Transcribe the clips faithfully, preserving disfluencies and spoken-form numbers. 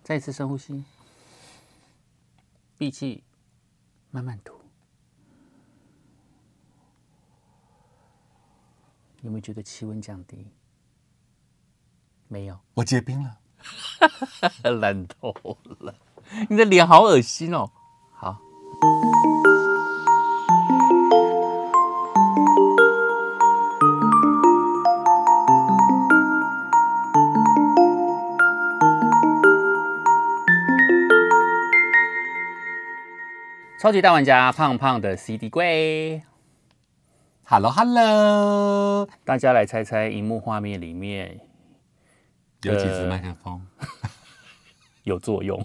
再一次深呼吸，闭气，慢慢吐。有没有觉得气温降低？没有， 我结冰了， 烂透了。你的脸好恶心哦。好。超级大玩家胖胖的 C D 柜 ，Hello Hello， 大家来猜猜荧幕画面里面有几支麦克风有作用？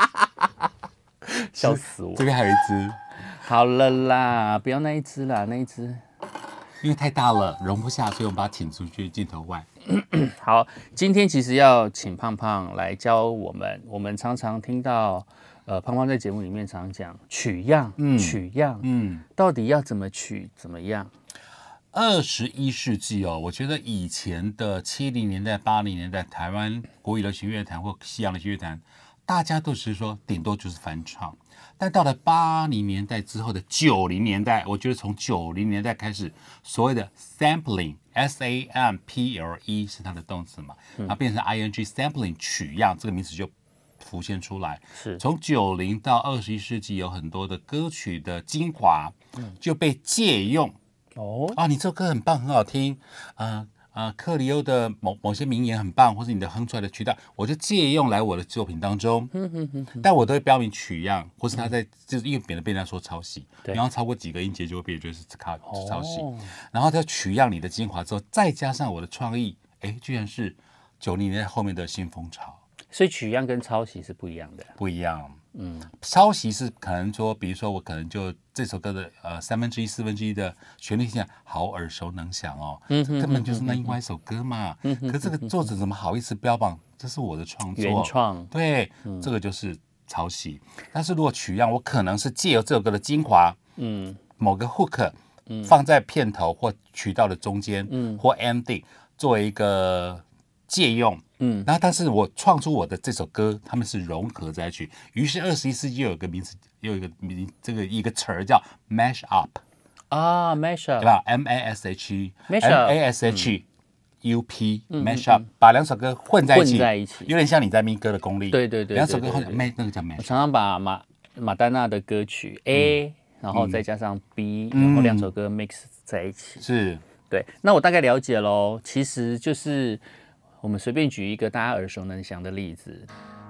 笑死我！ 这边还有一支， 好了啦，不要那一只啦，那一只因为太大了，容不下，所以我们把它请出去镜头外。 好，今天其实要请胖胖来教我们，我们常常听到。呃，胖胖在节目里面常讲取样，嗯，取样，嗯，到底要怎么取，怎么样？ 二十一世纪哦，我觉得以前的七零年代、八零年代，台湾国语流行乐坛或西洋流行乐坛，大家都是说顶多就是翻唱。但到了八零年代之后的九零年代，我觉得从九零年代开始，所谓的 sampling，S A M P L E 是它的动词嘛，然后变成 I N G sampling 取样这个名词就浮现出来。 是从九零到二十一世纪，有很多的歌曲的精华就被借用。 哦啊，你这首歌很棒，很好听，啊、呃、啊，克里欧的某某些名言很棒，或是你的哼出来的曲调，我就借用来我的作品当中。但我都会标明取样，或是他在就是因为免得被人家说抄袭，然后超过几个音节就会被人觉得是抄是抄袭。 哦然后他取样你的精华之后，再加上我的创意，哎，居然是九零年代后面的新风潮。 所以取样跟抄袭是不一样的。 不一样，嗯，抄袭是可能说，比如说我可能就这首歌的呃三分之一、四分之一的旋律线好耳熟能详哦，嗯，根本就是那另外一首歌嘛。嗯，可这个作者怎么好意思标榜这是我的创作？ 原创， 对，嗯、这个就是抄袭。但是如果取样，我可能是借由这首歌的精华，嗯，某个 hook，嗯，放在片头或曲调的中间，嗯，或 ending 作为一个借用。嗯，然后但是我创出我的这首歌，他们是融合在一起。于是二十一世纪又有个名词，又有一个名，这个一个词儿叫 mash up 啊 ，mash up， 对吧 ？M A S H E，M A S H U P，mash up，把两首歌混在一起， 混在一起， 有点像你在咪歌的功力。 对对对， 两首歌混在，那个叫 mash。 我常常把马马丹娜的歌曲 A，然后再加上 B，然后两首歌 mix 在一起。 是， 对。那我大概了解喽，其实就是。我们随便举一个大家耳熟能详的例子。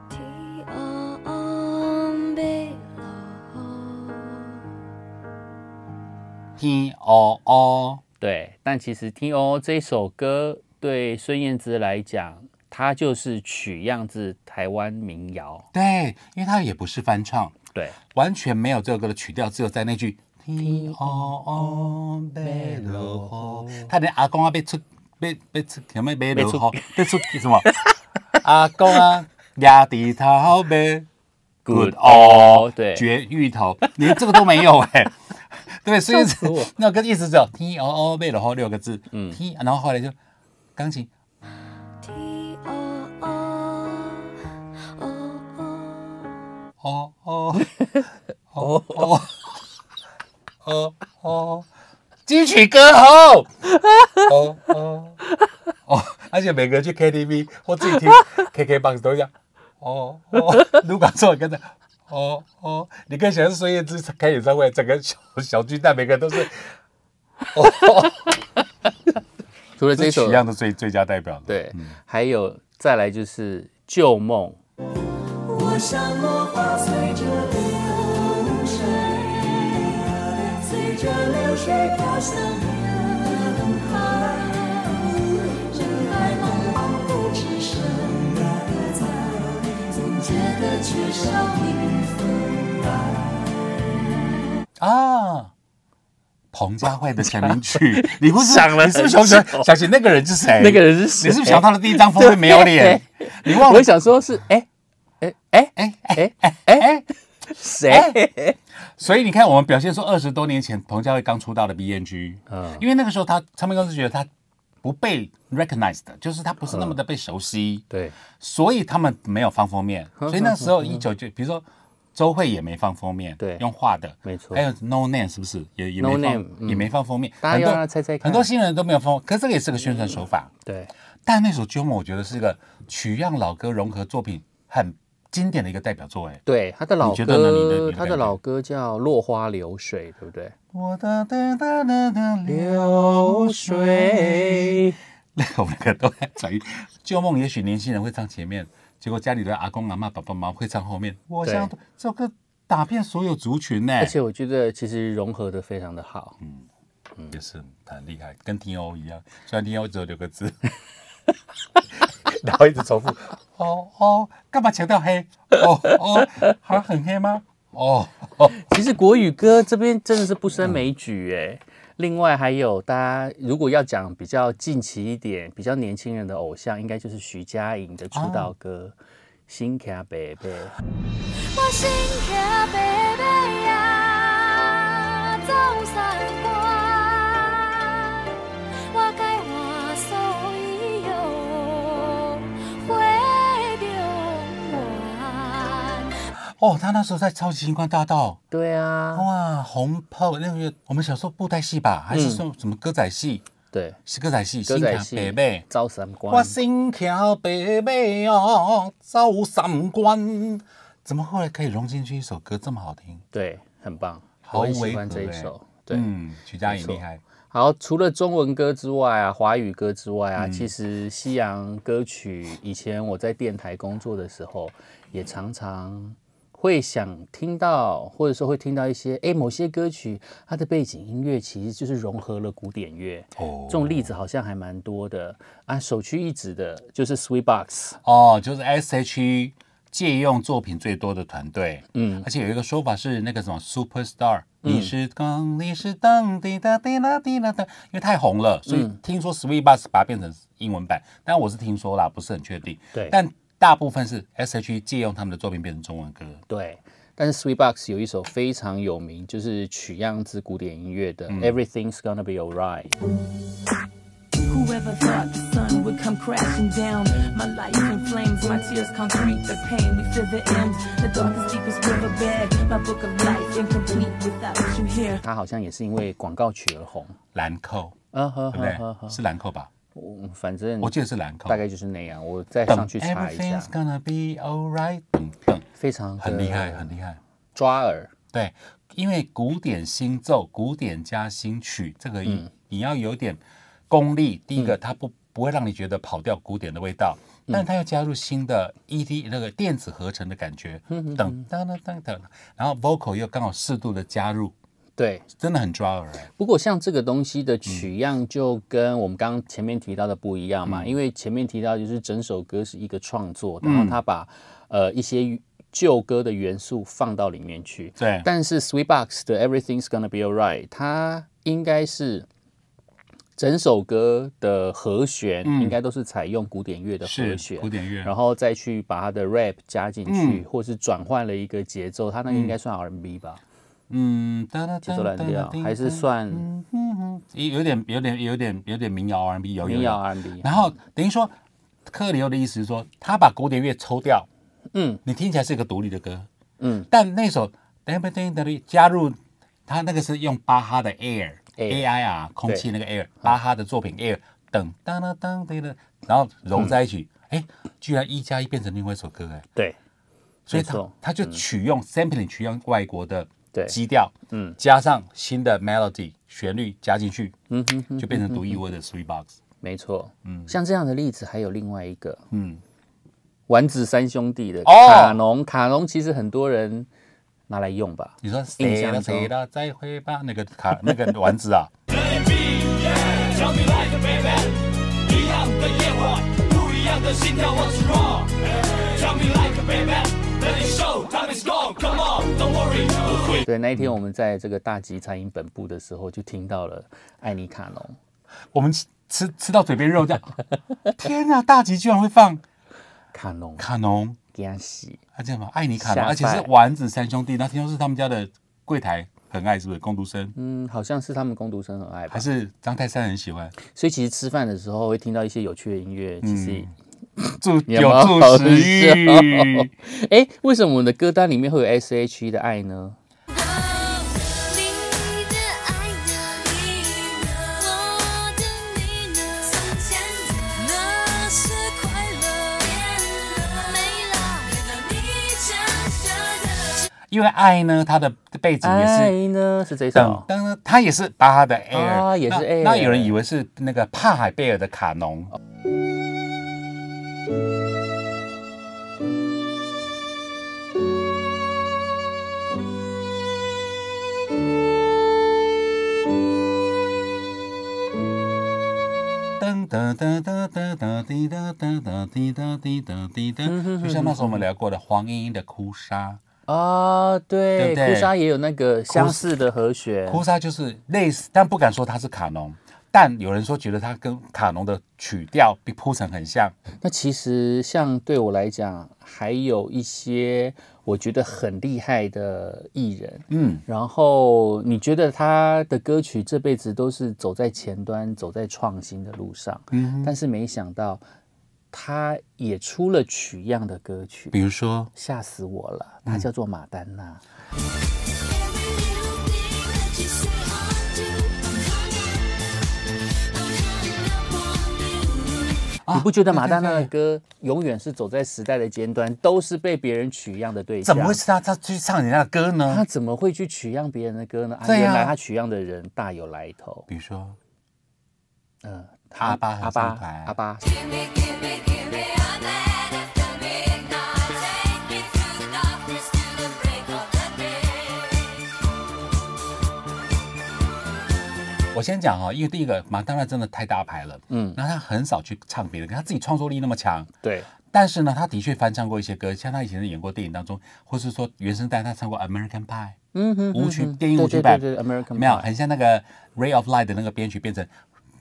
T O O， 对，但其实 T O O 这首歌对孙燕姿来讲，它就是取样自台湾民谣。 对，因为它也不是翻唱， 对， 完全没有这首歌的曲调，只有在那句 T O O 贝罗吼，他连阿公啊被出。被被出什么被落雨，被出什么？阿公啊，压地头被 good 哦， 对， 绝芋头，连这个都没有哎、欸，对，所以那个意思只有 T O O 被落雨六个字，嗯 ，T， 然后后来就钢琴 T O O， 哦哦哦哦哦哦。金曲歌后，哦哦哦，而且每个人去 K T V 或自己听 K K box 都一样，哦哦，如果错跟着，哦哦，你可以想象孙燕姿开演唱会，整个小小巨蛋每个人都是，哦， 除了这首取样的最最佳代表的， 对，嗯、还有再来就是旧梦。我像落花随着流水，随着流水飘向人海，人海茫茫不知什么在，总觉得缺少一份爱。 啊，彭佳慧的成名曲，你不是想了， 你是不是想想想起那个人是谁？ 那个人是谁？ 你是不是想他的第一张封面没有脸？你忘了？ 我想说是哎哎哎哎哎哎哎谁？ 所以你看，我们表现出二十多年前彭佳慧刚出道的 B N G， 嗯，因为那个时候他唱片公司觉得他不被 recognized 的，就是它不是那么的被熟悉， 对， 所以他们没有放封面，所以那时候一九就比如说周慧也没放封面， 对用画的， 没错还有 No Name 是不是也也没 No 放 Name，嗯也没放封面， 大家要很多让他猜猜看很多新人都没有放，可是这个也是个宣传手法。 对， 但那首《鸠梦》我觉得是一个取样老歌融合作品很经典的一个代表作，哎， 对，他的老你觉得呢你的你歌， 的感觉他的老歌叫《落花流水》，对不对？ 我的的的的的流水， 我们两个都在转移。旧梦也许年轻人会唱前面，结果家里的阿公阿嬷爸爸妈妈会唱后面。我想对这首歌打遍所有族群呢， 而且我觉得其实融合的非常的好。 也是很厉害，跟 T O 一样，虽然 T O 只有六个字，然后一直重复。哦哦，干嘛强调黑？哦哦，还很黑吗？哦哦， 其实国语歌这边真的是不胜枚举哎。另外还有大家如果要讲比较近期一点、比较年轻人的偶像，应该就是徐佳莹的出道歌《心卡贝贝》。 我心卡贝贝呀，走三关，我该话所以有回中原。 哦，他那时候在超级星光大道。 对啊， 哇，红炮那个我们小时候布袋戏吧，还是说什么歌仔戏？ 对， 是歌仔戏， 歌仔戏北北， 走三关。 我心跳北北哦，走三关。怎么后来可以融进去一首歌这么好听？ 对，很棒， 好我很喜违和欢这一欸首。对， 嗯，徐佳莹没错厉害。 好，除了中文歌之外啊，华语歌之外嗯啊，其实西洋歌曲，以前我在电台工作的时候，也常常会想听到，或者说会听到一些，哎，某些歌曲它的背景音乐其实就是融合了古典乐。 哦这种例子好像还蛮多的啊。首屈一指的就是 Sweetbox。 哦，就是 S H E 借用作品最多的团队， 嗯， 而且有一个说法是那个什么 Superstar，、嗯、你是光，你是灯，滴答滴答滴答的，因为太红了，所以听说 Sweetbox 把它变成英文版，但我是听说啦，不是很确定。 对， 但大部分是 S H E 借用他们的作品变成中文歌。 对，但是 Sweetbox 有一首非常有名，就是取样自古典音乐的、 嗯、 Everything's Gonna Be Alright。 Whoever thought the sun would come crashing down? My life in flames, my tears concrete the pain. We feel the end, the darkest, deepest riverbed. My book of life incomplete without you here. 它好像也是因为广告曲而红。 兰蔻， 啊呵对不对？ 呵呵， 是兰蔻吧？ 我反正我记得是兰蔻， 大概就是那样。我再上去查一下 Everything's，gonna be alright，等等， 非常很厉害，很厉害。 抓耳。 对，因为古典新奏、古典加新曲，这个、 嗯、 你要有点功力。第一个，它不不会让你觉得跑掉古典的味道， 嗯、 但它要加入新的 E D 那个电子合成的感觉， 嗯等等等等等，然后 vocal 又刚好适度的加入， 对， 真的很抓耳、欸。 不过像这个东西的取样就跟我们刚刚前面提到的不一样嘛， 嗯、 因为前面提到就是整首歌是一个创作，然后他把、嗯、呃一些旧歌的元素放到里面去。 对， 但是 Sweetbox 的 Everything's Gonna Be Alright， 它应该是整首歌的和弦、嗯、应该都是采用古典乐的和弦， 古典乐， 然后再去把它的 rap 加进去，嗯、或是转换了一个节奏，它那个应该算 R and B 吧？ 嗯， 节奏蓝调还是算嗯嗯有点有点有点有点民谣 R and B， 有民谣 R and B。 然后等于说，克里欧的意思是说，他把古典乐抽掉。 嗯， 你听起来是一个独立的歌， 嗯， 但那首 Everything 加入他那个是用巴哈的 Air A I 啊，空气那个 Air， 巴哈的作品 Air 等当当当的，然后揉在一起，哎、嗯，居然一加一变成另外一首歌，哎， 对， 所以他他就取用、嗯、sampling 取用外国的基调， 嗯， 加上新的 melody 旋律加进去， 嗯哼哼， 就变成独一无二的 Sweetbox。 没错，嗯，像这样的例子还有另外一个， 嗯。 丸子三兄弟的卡农，哦、卡农其实很多人拿来用吧？ 你说谁了谁了再会吧？那个卡那个丸子啊。 对，那一天我们在这个大吉餐饮本部的时候，就听到了艾妮卡农。 我们吃吃到嘴边肉这样，天哪！大吉居然会放。 卡农， 卡农， 给他洗， 他这样嘛，爱你卡农，而且是丸子三兄弟，那听说是他们家的柜台很爱，是不是？工读生， 嗯，好像是他们工读生很爱吧还？是张泰山很喜欢？ 所以其实吃饭的时候会听到一些有趣的音乐，其实助有有助食欲。 哎，为什么我们的歌单里面会有 S H E 的爱呢？ 因为爱呢，它的背景也爱是呢是这等首， 等呢，它也是巴哈的 Air，、 啊也是那 Air 那有人以为是那个帕海贝尔的卡农。噔噔噔噔噔噔滴哒哒哒滴哒滴哒滴哒，就像那时候我们聊过的黄莺莺的《哭砂》。 啊，对， 对不对哭砂也有那个相似的和弦， 哭砂就是类似，但不敢说它是卡农，但有人说觉得它跟卡农的曲调比铺陈很像。 那其实像对我来讲，还有一些我觉得很厉害的艺人， 嗯， 然后你觉得他的歌曲这辈子都是走在前端，走在创新的路上，嗯，但是没想到他也出了取样的歌曲， 比如说吓死我了，他叫做马丹娜。你不觉得马丹娜的歌永远是走在时代的尖端，都是被别人取样的对象？ 怎么会是他他去唱人家的歌呢？ 他怎么会去取样别人的歌呢？啊， 对啊原来他取样的人大有来头。 比如说嗯， 阿巴合阿巴唱团阿巴， 我先讲哈，因为第一个马丹娜真的太大牌了，嗯，那他很少去唱别的歌，他自己创作力那么强， 对， 但是呢，他的确翻唱过一些歌，像他以前演过电影当中，或是说原声带，他唱过《American Pie》， 嗯哼， 舞曲嗯哼电影舞曲版， 对对对对 American 没有， Pie 很像那个《Ray of Light》的那个编曲变成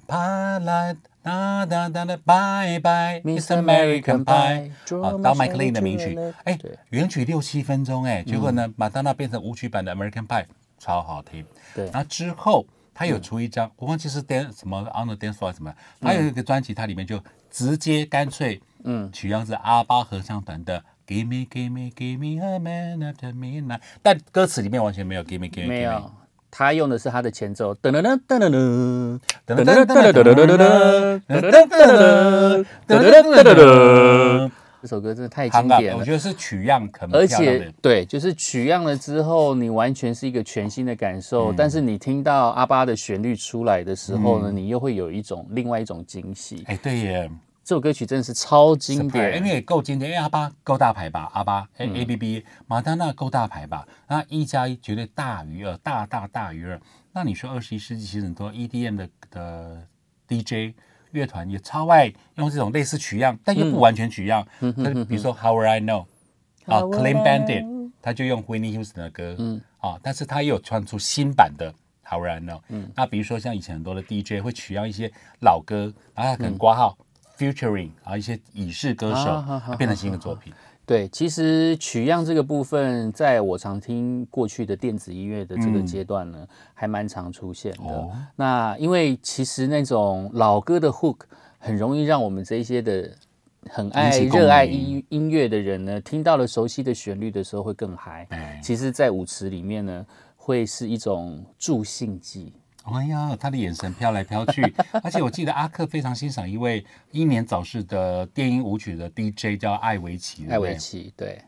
Pie Light 哒哒哒哒 Bye Bye It's American Pie， 啊，到 Mike Lean 的名曲，哎，原曲六七分钟，哎，结果呢，马丹娜变成舞曲版的 American Pie， 超好听， 对， 然后之后。他有出一张，我忘记是 dance 什么 on the dance floor 什么，他有一个专辑，它里面就直接干脆，嗯，取样是阿巴合唱团的 Give me Give me Give me a man after midnight， 但歌词里面完全没有 Give me Give me， 没有，他用的是他的前奏，噔噔噔噔噔噔噔噔噔噔噔噔噔噔噔噔噔噔噔。这首歌真的太经典了， 我觉得是取样很而漂亮的且对，就是取样了之后，你完全是一个全新的感受。嗯、但是你听到阿巴的旋律出来的时候呢，嗯、你又会有一种另外一种惊喜。 哎，对耶， 这首歌曲真的是超经典， 因为也够经典，因为阿巴够大牌吧，阿巴 A A B B， 马丹娜够大牌吧，那一加一绝对大于二，大大大于二。那你说二十一世纪其实很多 E D M 的的 D J。乐团也超爱用这种类似取样，但又不完全取样。嗯、比如说 How Will I Know 啊 ，Clean Bandit， 他就用 Whitney Houston 的歌，嗯啊，但是他也有传出新版的 How Will I Know。嗯，那比如说像以前很多的 D J 会取样一些老歌，然后他可能挂号、嗯、featuring 啊一些已逝歌手，啊、变成新的作品。 对，其实取样这个部分，在我常听过去的电子音乐的这个阶段呢，嗯、还蛮常出现的。哦、那因为其实那种老歌的 hook 很容易让我们这一些的很爱热爱音音乐的人呢，听到了熟悉的旋律的时候会更嗨。其实，在舞池里面呢，会是一种助兴剂。 哎呀，他的眼神飘来飘去，而且我记得阿克非常欣赏一位英年早逝的电音舞曲的 D J 叫艾维奇， 艾维奇，对。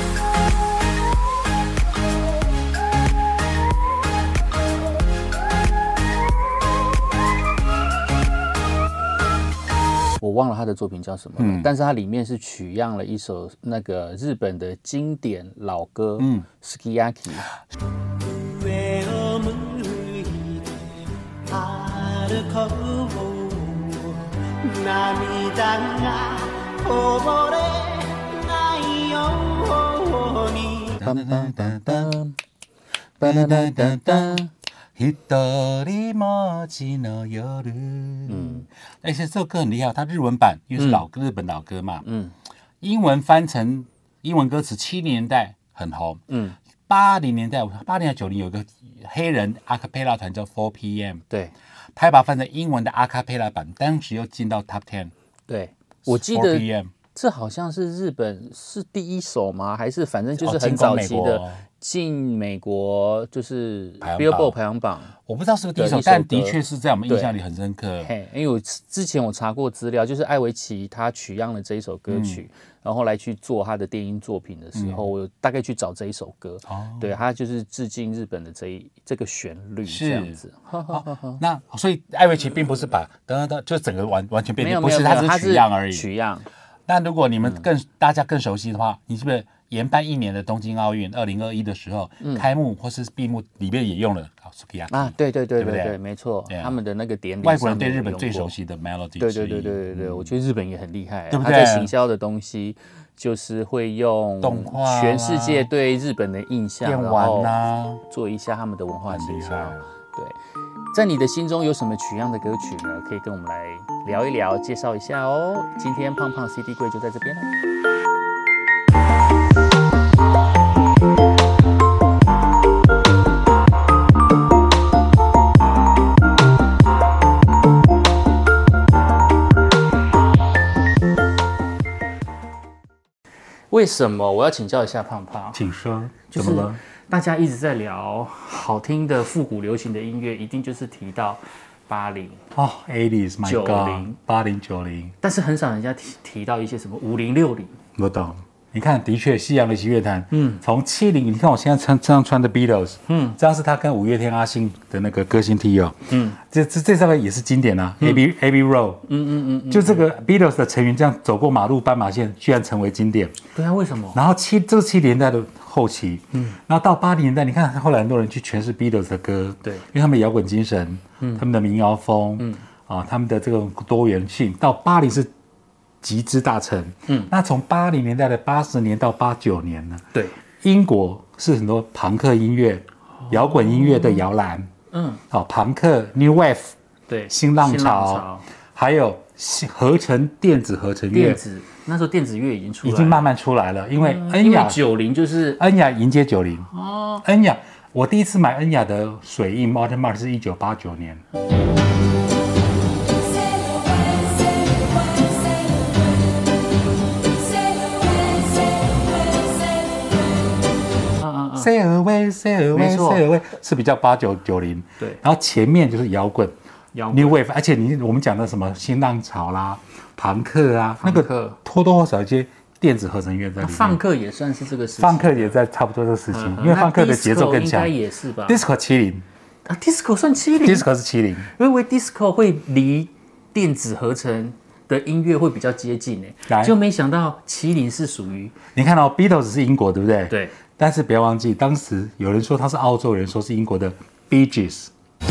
我忘了他的作品叫什么了，嗯、但是它里面是取样了一首那个日本的经典老歌，嗯 ，Sukiyaki。 嗯，而且这首歌很厉害，它日文版因为是老歌，嗯、日本老歌嘛，嗯，英文翻成英文歌词，七零年代很红，嗯， 八零年代，八零九零有一个黑人阿卡贝拉团叫 four P M， 对他把它翻成英文的阿卡贝拉版，当时又进到 Top Ten。 对，我记 4 得 P M 这好像是日本是第一首吗？还是反正就是哦很早期的进攻美国进美国就是排行榜 Billboard 排行榜。 我不知道是不是第一首， 的一首但的歌确是在我们印象里很深刻。 嘿，因为我之前我查过资料，就是艾维奇他取样了这一首歌曲， 嗯、 然后来去做他的电音作品的时候，嗯、我大概去找这一首歌，哦、对，他就是致敬日本的这一这个旋律这样子。 哦、那所以艾维奇并不是把等等等，就整个完完全变成，不是， 他只是取样而已。 取样。 那如果你们更、嗯、大家更熟悉的话，你是不是延办一年的东京奥运二零二一的时候，嗯、开幕或是闭幕里面也用了 Sukiyaki 啊？对对对对 对, 对, 对，没错， yeah. 他们的那个典礼， 外国人对日本最熟悉的 melody。 对对对对对对，嗯、我觉得日本也很厉害， 对不对？ 他在行销的东西就是会用动画， 全世界对日本的印象， 电玩啊， 做一下他们的文化行销。对，在你的心中有什么取样的歌曲呢？可以跟我们来聊一聊，介绍一下哦。今天胖胖 C D 柜就在这边了。为什么我要请教一下胖胖？ 请说， 怎么了？大家一直在聊好听的复古流行的音乐，一定就是提到八零哦 ，eighties，my god， 八零九零， 但是很少人家提提到一些什么五零六零。 我懂。你看，的确，西洋流行乐坛，嗯，从七零，你看我现在穿这样穿的 Beatles， 嗯，这样是他跟五月天阿信的那个歌星 T 哦，嗯，这这这上面也是经典啊 ，Abbey Abbey Road， 嗯嗯嗯，就这个 Beatles 的成员这样走过马路斑马线，居然成为经典。 对啊，为什么？ 然后七这是七零年代的后期，嗯，然后到八零年代，你看后来很多人去诠释 Beatles 的歌， 对， 因为他们的摇滚精神，嗯，他们的民谣风，嗯，啊，他们的这种多元性，到八零是极之大成，嗯，那从八零年代的八十年到八九年呢， 对， 英国是很多朋克音乐、摇滚音乐的摇篮，嗯，好，朋克 New Wave， 对， 新浪潮，还有合成电子合成乐， 电子那时候电子乐已经出来了， 已经慢慢出来了，因为恩雅九零就是恩雅迎接九零哦，恩雅，我第一次买恩雅的水印 Modern Mark 是一九八九年。Sail away, sail away, sail away 是比较八九九零， 对， 然后前面就是摇滚 ，New Wave， 而且你我们讲的什么新浪潮啦、朋克啊，那个或多或少一些电子合成乐在里面。 放克也算是这个时期， 放克也在差不多这个时期，因为放克的节奏更强。 应该也是吧 ？Disco 七零啊 ，Disco 算七零 ，Disco 是七零， 我以为 Disco 会离电子合成的音乐会比较接近诶，就没想到七零是属于。 你看到 Beatles 是英国，对不对？ 对。 但是不要忘记，当时有人说他是澳洲人，说是英国的 Bee Gees。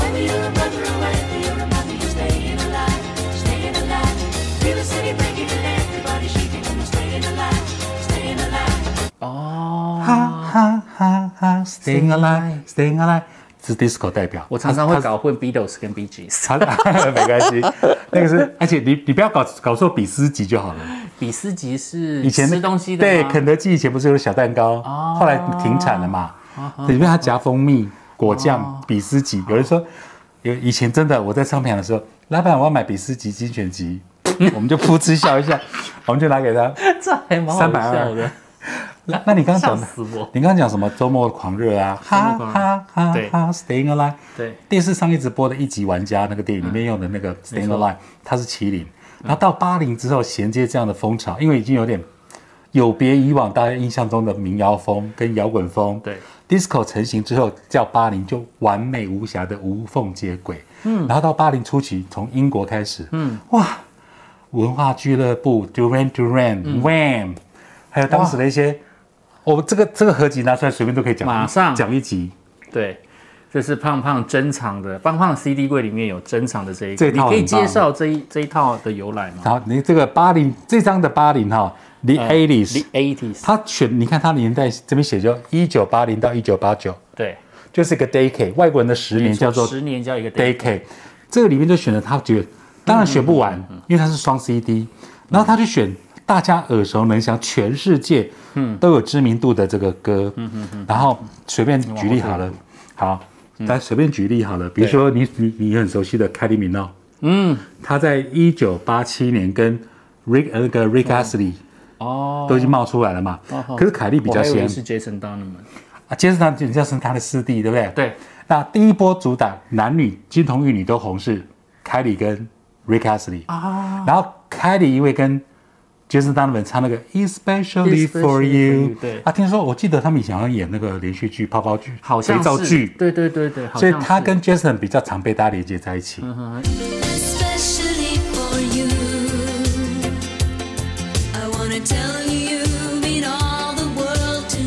哦， 哈哈哈哈 ，Staying alive, Staying alive， 是 disco 代表。 我常常会搞混 Beatles 跟 Bee Gees， 没关系，那个是，而且你你不要搞搞错比斯吉就好了。 比斯吉是以前吃东西的吗？ 对，肯德基以前不是有小蛋糕，哦、后来停产了嘛，哦、里面它夹蜂蜜、果酱、哦、比斯吉。有人说，有以前真的我在唱片的时候，老板我要买比斯吉精选集，我们就噗嗤笑一下，我们就拿给他， 这还蛮好笑的。 那那你刚刚讲，你刚刚讲什么周末狂热啊？ 哈哈哈哈 ，Staying Alive。 对， 电视上一直播的一级玩家那个电影里面用的那个 Staying Alive， 它是麒麟。然后到八零之后衔接这样的风潮，因为已经有点有别以往大家印象中的民谣风跟摇滚风。 对 ，disco 成型之后，叫八零就完美无瑕的无缝接轨。嗯，然后到八零初期，从英国开始，嗯，哇，文化俱乐部 Duran Duran、Wham， 还有当时的一些，哦，这个这个合集拿出来随便都可以讲， 马上讲一集。 对。这是胖胖珍藏的，胖胖 C D 柜里面有珍藏的这一个， 你可以介绍这一这一套的由来吗？ 好，你这个八零这张的八零哈 ，The eighties，The eighties， 它选你看它年代这边写就一九八零到一九八九， 对， 就是一个 decade， 外国人的十年叫做十年叫一个 decade， 这个里面就选了他觉得，当然选不完，因为它是双 C D， 然后他就选大家耳熟能详，全世界都有知名度的这个歌。嗯嗯嗯。然后随便举例好了，好，来随便举例好了，比如说你你你很熟悉的凯莉米诺，嗯，他在一九八七年跟 Rick 那个 Rick Astley 哦都已经冒出来了嘛。可是凯莉比较先。 是 Jason Donovan 啊，杰森他人家是他的师弟，对不对？ 对。 那第一波主打男女金童玉女都红是凯莉跟 Rick Astley 啊，然后凯莉因为跟 Jason Donovan 唱那个 Especially for You， 对啊，听说我记得他们以前好像演那个连续剧、泡泡剧、 好像肥皂剧， 对对对对， 所以他跟 Jason 比较常被大家连接在一起。嗯 Especially for you, I wanna tell you you mean all the world to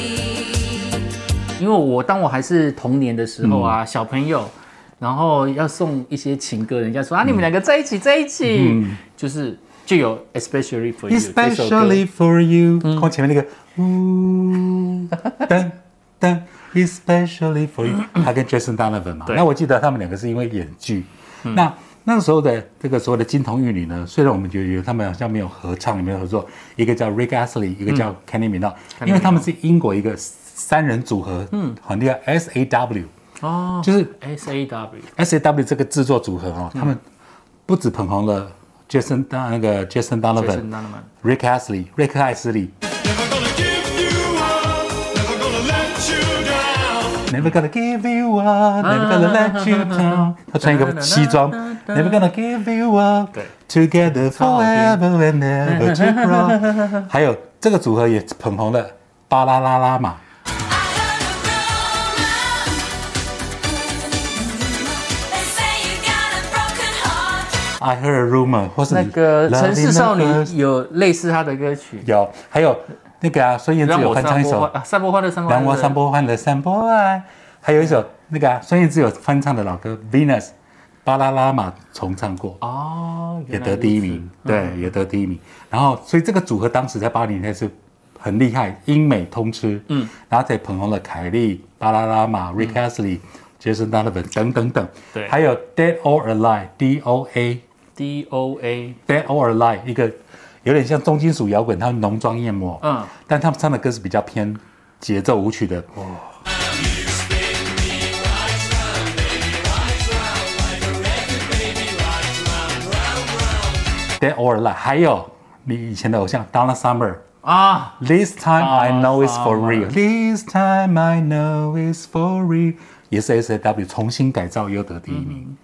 me。 因为我当我还是童年的时候啊，嗯、小朋友，然后要送一些情歌，人家说啊，你们两个在一起，在一起，嗯、就是就有 Especially for You，Especially for You，嗯、看前面那个呜噔噔 ，Especially for You，他跟 Jason Donovan 嘛，那我记得他们两个是因为演剧，嗯、那那个时候的这个所谓的金童玉女呢，虽然我们觉得他们好像没有合唱，没有合作，一个叫 Rick Astley， 一个叫 Kylie Minogue，嗯、因为他们是英国一个三人组合，嗯，很厉害 ，S A W。哦，就是 S A W S A W 这个制作组合哦，嗯、他们不止捧红了 Jason 那个 Jason Donovan、Rick Astley、瑞克艾斯利。Never gonna give you up, never gonna let you down。他穿一个西装 ，Never gonna give you up, together forever and never to grow。还有这个组合也捧红了巴啦啦啦嘛。I heard a rumor， 或是那个城市少女有类似她的歌曲， 有，还有那个啊，孙燕姿有翻唱一首 《散播欢乐散播让我散播欢乐散播爱》，还有一首那个啊，孙燕姿有翻唱的老歌《Venus》，巴啦啦嘛重唱过哦，也得第一名，对，也得第一名。然后，所以这个组合当时在八零年代是很厉害，英美通吃，嗯，然后再捧红了凯莉、巴啦啦嘛、Rick Astley、Jason Donovan 等等等，对，还有 Dead or Alive，D O A。D O A Dead or Alive 一个有点像重金属摇滚，他们浓妆艳抹，嗯，但他们唱的歌是比较偏节奏舞曲的。哦、Dead or Alive 还有你以前的偶像 Donna Summer 啊 ，This time I know it's for real，This time I know it's for real， 也是 S A W 重新改造又得第一名。嗯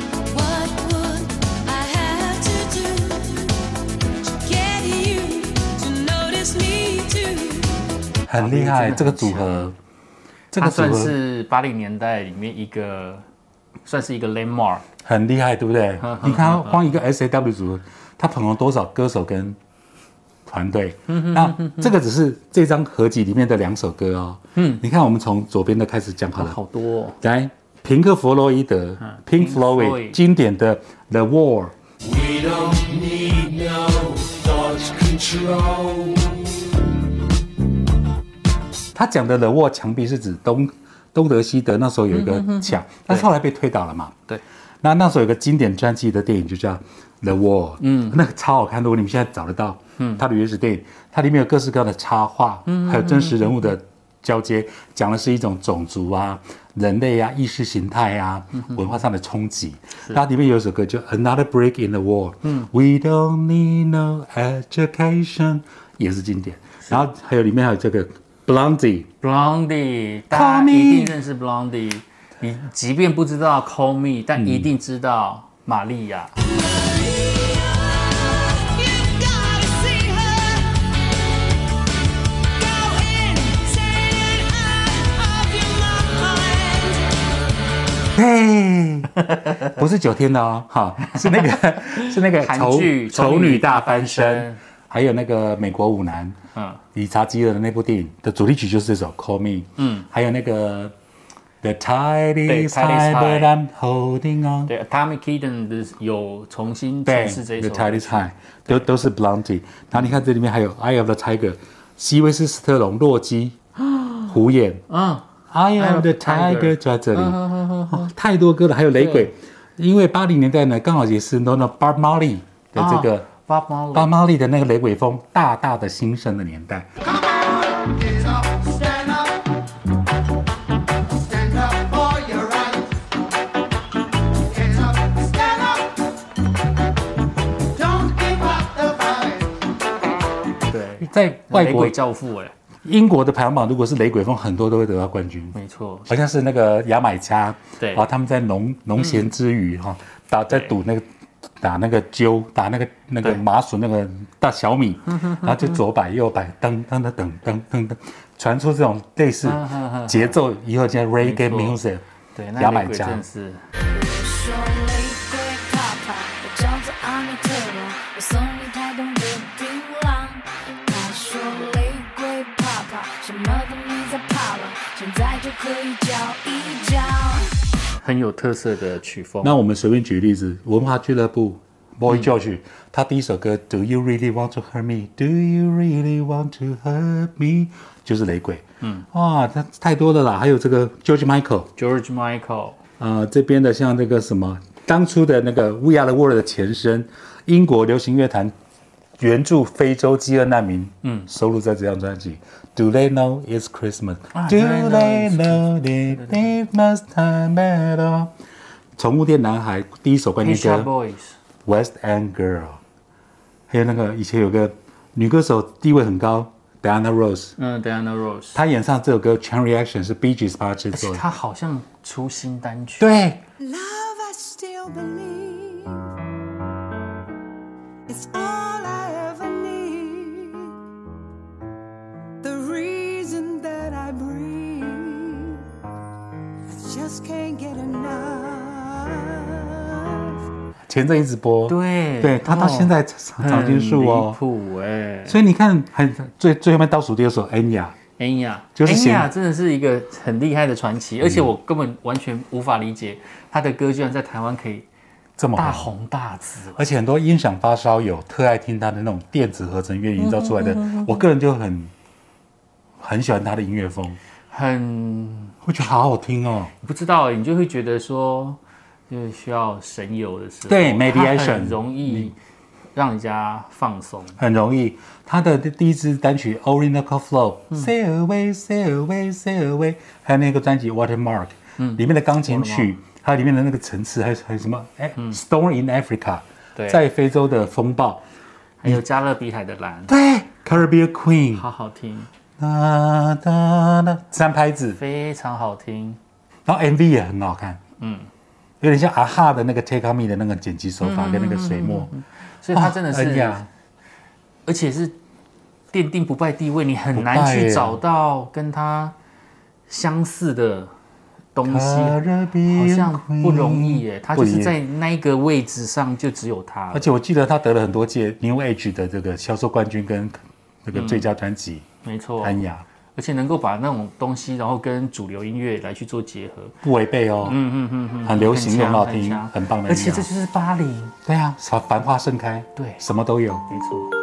很厉害，这个组合， 这个算是八零年代里面一个，算是一个 landmark， 很厉害，对不对？你看，光一个 S A W 组合，他捧红多少歌手跟团队？那这个只是这张合集里面的两首歌哦。嗯，你看，我们从左边的开始讲好了， 好多、哦。 来，平克·弗洛伊德 （Pink Floyd） 经典的《The Wall》。We don't need no thought control。他讲的 The Wall 墙壁是指东东德西德那时候有一个墙，但是后来被推倒了嘛。对，那那时候有个经典传记的电影就叫 The Wall， 嗯，那个超好看的，如果你们现在找得到，嗯，它的原始电影，它里面有各式各样的插画，嗯，还有真实人物的交接，讲的是一种种族啊、人类啊、意识形态啊、文化上的冲击。它里面有一首歌叫 Another Brick in the Wall， 嗯 ，We don't need no education， 也是经典。然后还有里面还有这个。Blondie， Blondie， 大家一定认识 Blondie。你即便不知道 Call Me， 但一定知道玛利亚。 嘿，不是九天的哦，哈，是那个是那个韩剧《 丑女大翻身》。还有那个美国舞男，嗯，理查基尔的那部电影的主题曲就是这首《Call Me》，嗯，还有那个 The Tide is High But I'm Holding On， 对 ，Atomic Kitten 的有重新诠释这一首 The Tide is High， 都都是 Blondie。然后你看这里面还有 Eye of the Tiger， 西威斯斯特龙洛基虎眼，嗯 ，Eye of the Tiger 就在这里，哦，太多歌了，还有雷鬼，因为八零年代呢刚好也是 Bob Marley 的这个。 Bob Marley， 巴马利的那个雷鬼风大大的兴盛的年代。 Get up, stand up. Stand up for your rights. Get up, stand up. Don't give up the fight. 对， 在外国雷鬼教父哎， 英国的排行榜，如果是雷鬼风，很多都会得到冠军。 没错， 好像是那个牙买加， 对啊，他们在农农闲之余哈、打在赌那个打那个鸠，打那个那个对麻薯那个大小米，然后就左摆右摆，噔噔噔噔噔噔噔，传出这种类似节奏，以后叫 reggae 没错 music， 对，那雷鬼牙买加真的是说雷鬼怕怕，我叫做阿米特罗，我送你台东的槟榔。他说雷鬼怕怕，什么都没在怕了，现在就可以叫一叫。 很有特色的曲风。 那我们随便举例子，文化俱乐部 Boy George，、他第一首歌 Do you really want to hurt me? Do you really want to hurt me? 就是雷鬼，嗯，哇，他太多了啦，还有这个 George Michael。 George Michael， 呃，这边的像这个什么，当初的那个 We Are the World 的前身，英国流行乐坛援助非洲饥饿难民，嗯，收录在这张专辑。Do they know it's Christmas? 啊 Do Do they know they it's know that Christmas time at all? 宠物店男孩第一首冠军 Pet Shop 歌 Boys， West End Girl， 还有那个以前有个女歌手地位很高 Diana Ross， 嗯 Diana Ross， 她演唱这首歌 Chain Reaction 是 Bee Gees 帮她制而且作的。 他好像出新单曲。 对， Love, I still believe it's all I ever need. The reason that I breathe, I just can't get enough. 前阵一直播， 对对，他到现在长长青树很离哦， 谱哎。 所以你看，很最最后面倒数第二首《恩雅》， 恩雅， 就是显恩雅真的是一个很厉害的传奇，而且我根本完全无法理解他的歌居然在台湾可以这么好， 大红大紫。 而且很多音响发烧友特爱听他的那种电子合成乐营造出来的，我个人就很很喜欢他的音乐风， 很我觉得好好听哦。 不知道，你就会觉得说，就是需要神游的时候， 对它 meditation 很容易让人家放松。 很容易，他的第一支单曲《Orinoco Flow》，Sail away，Sail away，Sail away，还有那个专辑《Watermark》，嗯，里面的钢琴曲，还有里面的那个层次，还有还有什么？哎，《Storm in Africa》， 对在非洲的风暴， 还有加勒比海的蓝， 对，《Caribbean Queen》， 好好听， 哒哒哒，三拍子， 非常好听。 然后 M V 也很好看，嗯，有点像阿哈的那个 Take On Me 的那个剪辑手法跟那个水墨， 所以他真的是， 哦恩雅而且是奠定不败地位，你很难不败耶去找到跟他相似的东西，好 Caribbean 像不容易耶。他就不容易是在那一个位置上，就只有他了。 而且我记得他得了很多届 New Age 的这个销售冠军跟那个最佳专辑， 没错， 安雅而且能够把那种东西，然后跟主流音乐来去做结合， 不违背哦， 嗯嗯嗯嗯， 很流行又很好听， 很强很棒的音乐。 而且这就是巴黎， 对啊，繁繁花盛开， 对， 什么都有。 没错。